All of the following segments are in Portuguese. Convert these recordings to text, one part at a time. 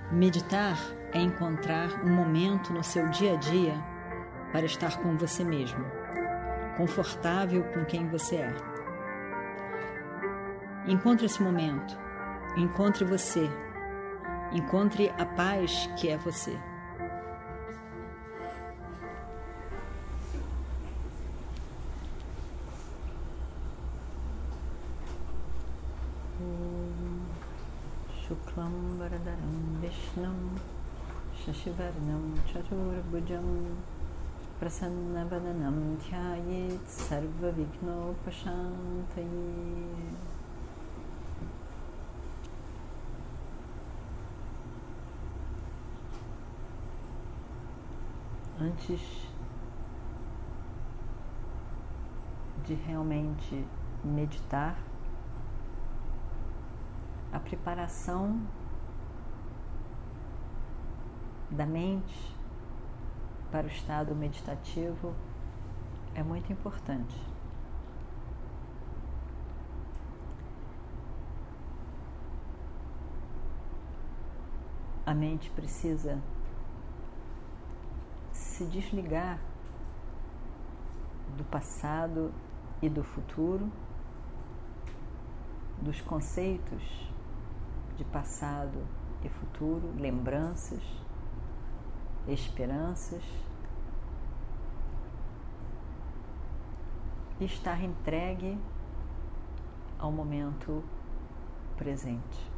Meditar é encontrar um momento no seu dia a dia para estar com você mesmo, confortável com quem você é. Encontre esse momento, encontre você, encontre a paz que é você. Shuklam Varadaram Vishnam Shashivarnam Chaturbhujam Prasannavananam Dhyayet Sarva Vignopashantaye. Antes de realmente meditar, a preparação da mente para o estado meditativo é muito importante. A mente precisa se desligar do passado e do futuro, dos conceitos de passado e futuro, lembranças, esperanças, e estar entregue ao momento presente.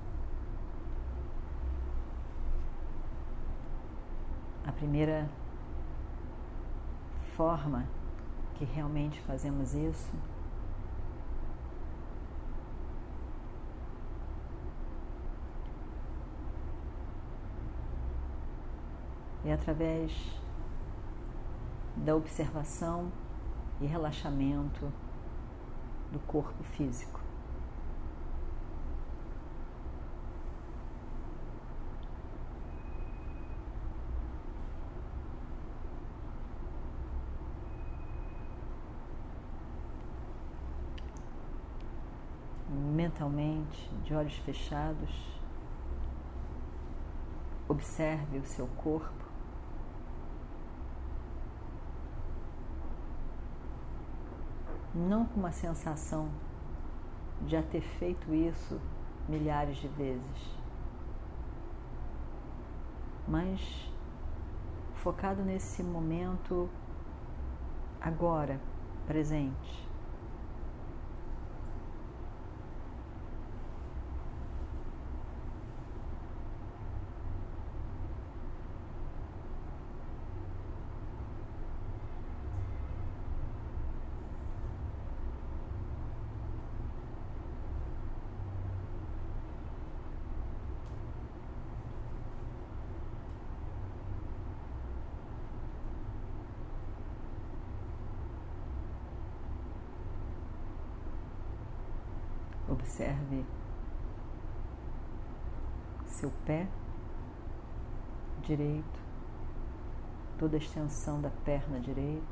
A primeira forma que realmente fazemos isso é através da observação e relaxamento do corpo físico. Mentalmente, de olhos fechados, observe o seu corpo. Não com uma sensação de já ter feito isso milhares de vezes, mas focado nesse momento agora, presente. Observe seu pé direito, toda a extensão da perna direita.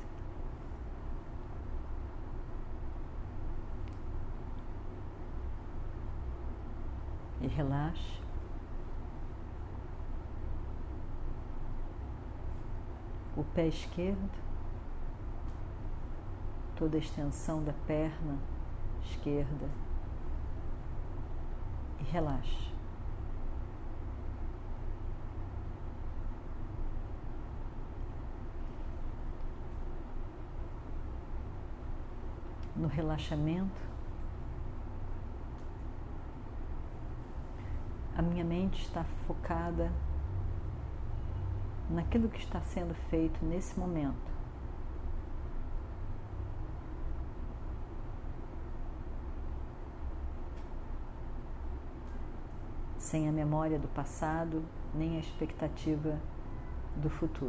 E relaxe. O pé esquerdo, toda a extensão da perna esquerda. E relaxe. No relaxamento, a minha mente está focada naquilo que está sendo feito nesse momento. Sem a memória do passado, nem a expectativa do futuro.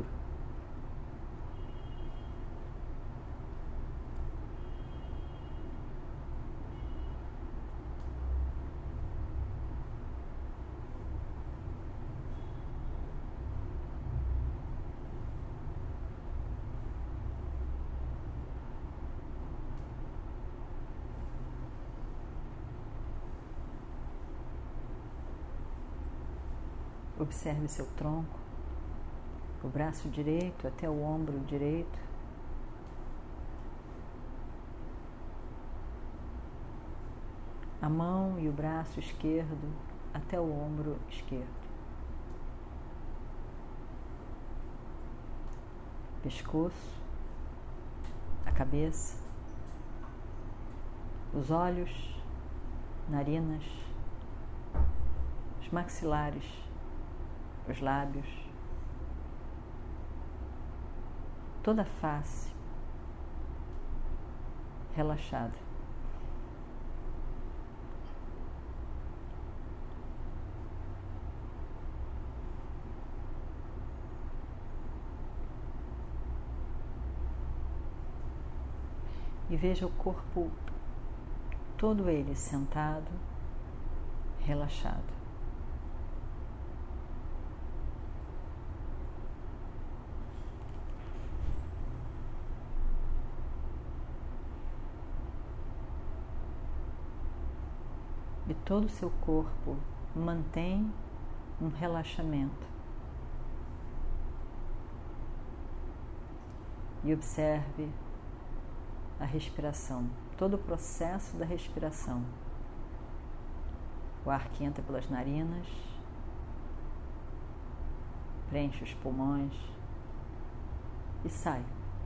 Observe seu tronco, o braço direito até o ombro direito. A mão e o braço esquerdo até o ombro esquerdo. Pescoço, a cabeça, os olhos, narinas, os maxilares, os lábios, toda a face relaxada. E veja o corpo todo ele sentado, relaxado. E todo o seu corpo mantém um relaxamento. E observe a respiração, todo o processo da respiração. O ar que entra pelas narinas, preenche os pulmões e sai.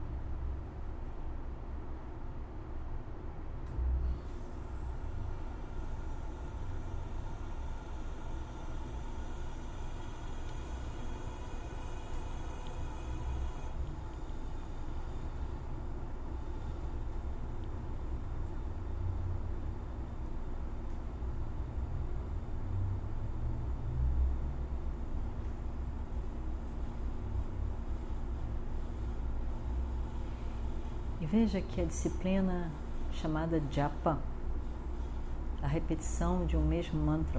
E veja que a disciplina chamada japa, a repetição de um mesmo mantra,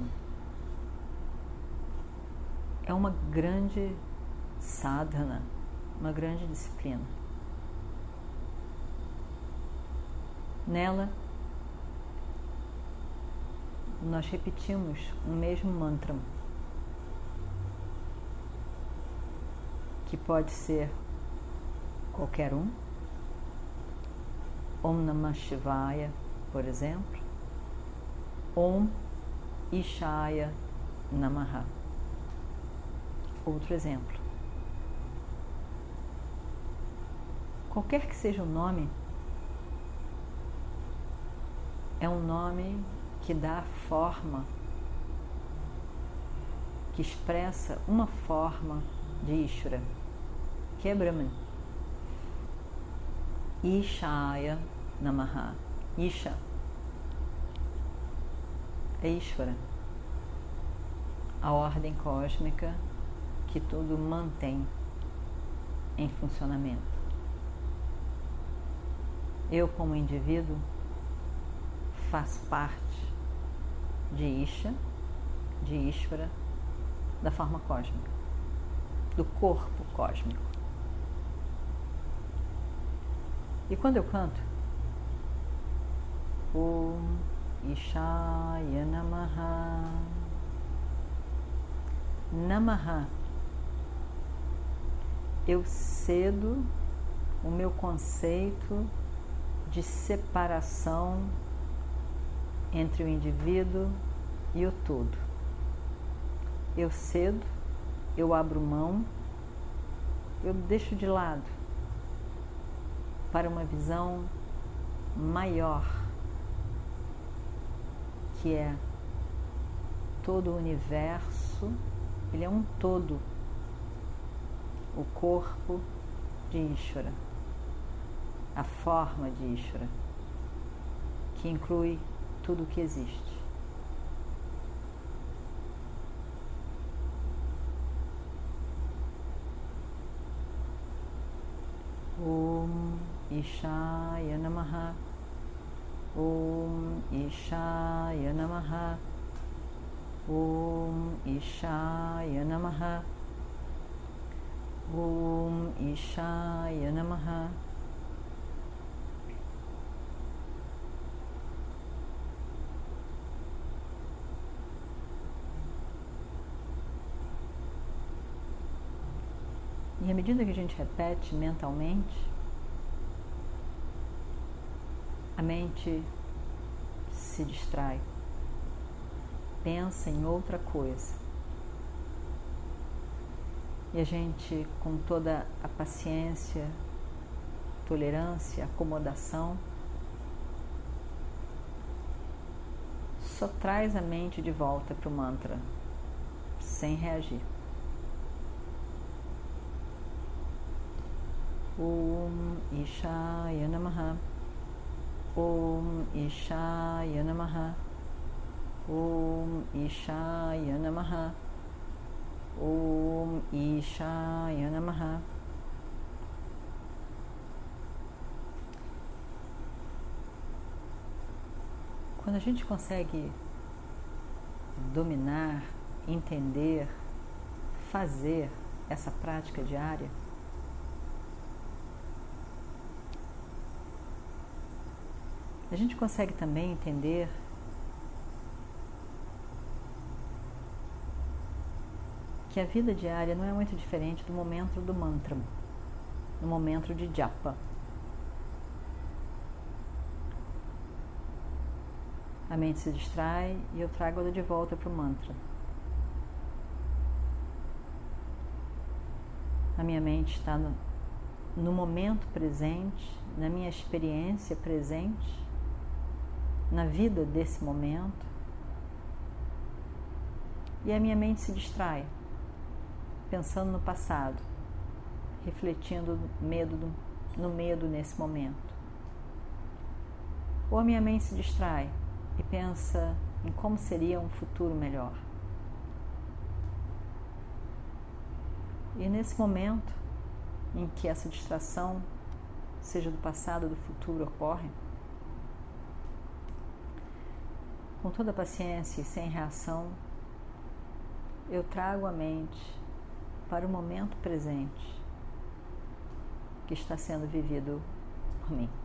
é uma grande sadhana, uma grande disciplina. Nela, nós repetimos um mesmo mantra, que pode ser qualquer um. Om Namah Shivaya, por exemplo. Om Ishaya Namaha. Outro exemplo. Qualquer que seja o nome, é um nome que dá forma, que expressa uma forma de Ishvara, que é Brahman. Ishaya Namaha. Isha é Ishvara, a ordem cósmica que tudo mantém em funcionamento. Eu, como indivíduo, faço parte de Isha, de Ishvara, da forma cósmica, do corpo cósmico. E quando eu canto Om Ishaya Namaha, Namaha, eu cedo o meu conceito de separação entre o indivíduo e o todo. Eu cedo, eu abro mão, eu deixo de lado para uma visão maior, que é todo o universo. Ele é um todo, o corpo de Ishvara, a forma de Ishvara, que inclui tudo o que existe. Om Ishaya Namaha, Om Ishaya Namaha, Om Ishaya Namaha, Om Ishaya Namaha. E à medida que a gente repete mentalmente, a mente se distrai, pensa em outra coisa. E a gente, com toda a paciência, tolerância, acomodação, só traz a mente de volta para o mantra, sem reagir. Om Ishaya Namaha, Om Ishaya Namaha, Om Ishaya Namaha, Om Ishaya Namaha. Quando a gente consegue dominar, entender, fazer essa prática diária, a gente consegue também entender que a vida diária não é muito diferente do momento do mantra, no momento de japa. A mente se distrai e eu trago ela de volta para o mantra. A minha mente está no momento presente, na minha experiência presente, na vida desse momento, e a minha mente se distrai, pensando no passado, refletindo no medo nesse momento. Ou a minha mente se distrai e pensa em como seria um futuro melhor. E nesse momento em que essa distração, seja do passado ou do futuro, ocorre, com toda a paciência e sem reação, eu trago a mente para o momento presente que está sendo vivido por mim.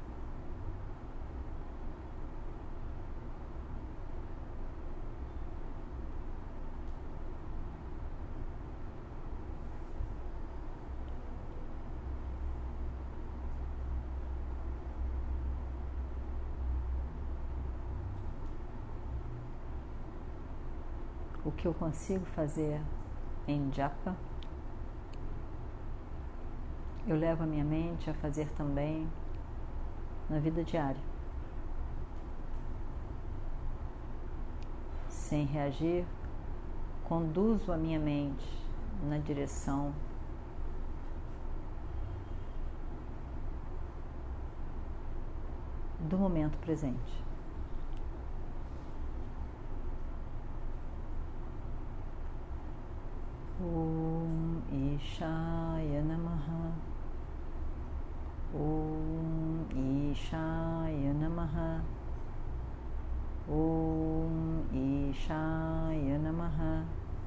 O que eu consigo fazer em japa, eu levo a minha mente a fazer também na vida diária. Sem reagir, conduzo a minha mente na direção do momento presente. Om Ishaya Namaha, Om Ishaya Namaha, Om Ishaya Namaha,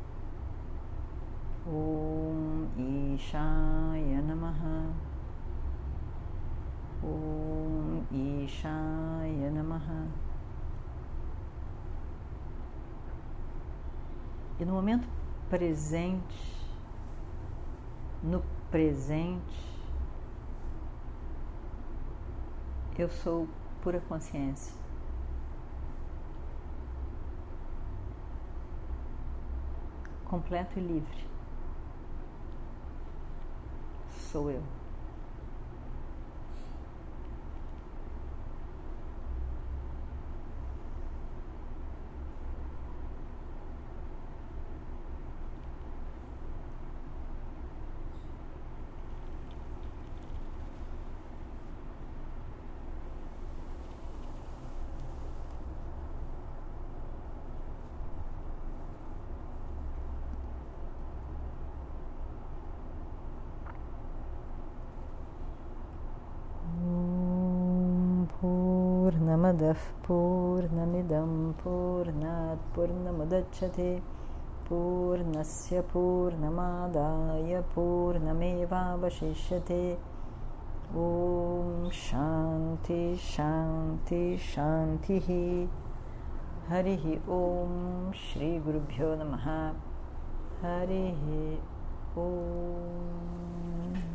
Om Ishaya Namaha, Om Ishaya Namaha. E no momento presente, no presente, eu sou pura consciência. Completo e livre. Sou eu. Purnamadav Purnamidam Purnat Purnamudachyate Purnasya Purnamadaya Purnameva Vashishyate. Om Shanti Shanti Shanti. Harihi Om Shri Gurubhyo Namaha. Harihi Om.